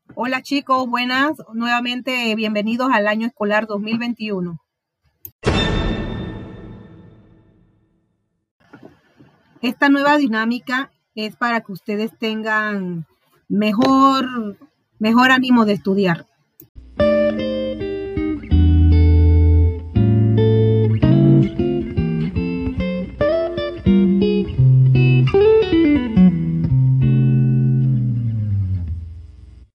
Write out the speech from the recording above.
Hola chicos, buenas. Nuevamente bienvenidos al año escolar 2021. Esta nueva dinámica es para que ustedes tengan mejor ánimo de estudiar.